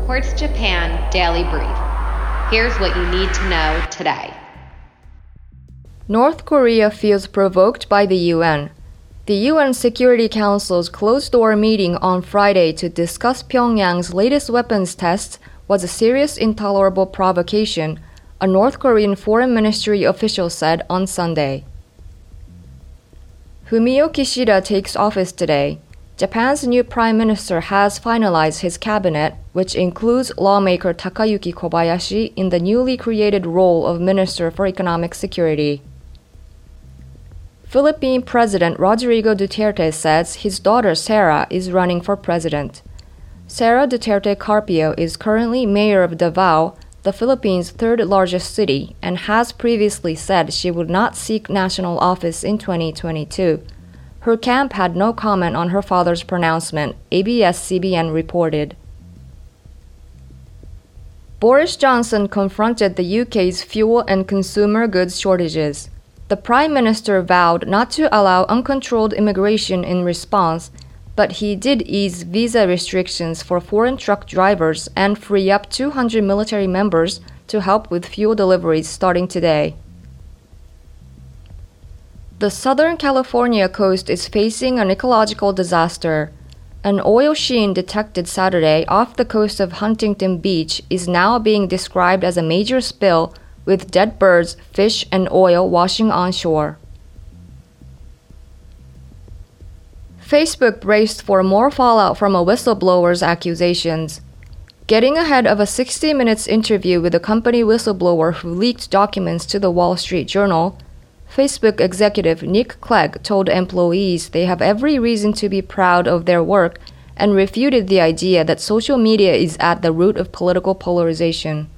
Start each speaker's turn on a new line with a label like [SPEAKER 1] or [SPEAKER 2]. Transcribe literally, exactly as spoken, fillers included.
[SPEAKER 1] Quartz Japan Daily Brief. Here's what you need to know today.
[SPEAKER 2] North Korea feels provoked by the U N. The U N Security Council's closed-door meeting on Friday to discuss Pyongyang's latest weapons tests was a serious, intolerable provocation, a North Korean Foreign Ministry official said on Sunday. Fumio Kishida takes office today. Japan's new prime minister has finalized his cabinet, which includes lawmaker Takayuki Kobayashi in the newly created role of Minister for Economic Security. Philippine President Rodrigo Duterte says his daughter Sara is running for president. Sara Duterte Carpio is currently mayor of Davao, the Philippines' third-largest city, and has previously said she would not seek national office in twenty twenty-two. Her camp had no comment on her father's pronouncement, A B S C B N reported. Boris Johnson confronted the U K's fuel and consumer goods shortages. The Prime Minister vowed not to allow uncontrolled immigration in response, but he did ease visa restrictions for foreign truck drivers and free up two hundred military members to help with fuel deliveries starting today. The Southern California coast is facing an ecological disaster. An oil sheen detected Saturday off the coast of Huntington Beach is now being described as a major spill, with dead birds, fish, and oil washing onshore. Facebook braced for more fallout from a whistleblower's accusations. Getting ahead of a sixty minutes interview with a company whistleblower who leaked documents to the Wall Street Journal, Facebook executive Nick Clegg told employees they have every reason to be proud of their work and refuted the idea that social media is at the root of political polarization.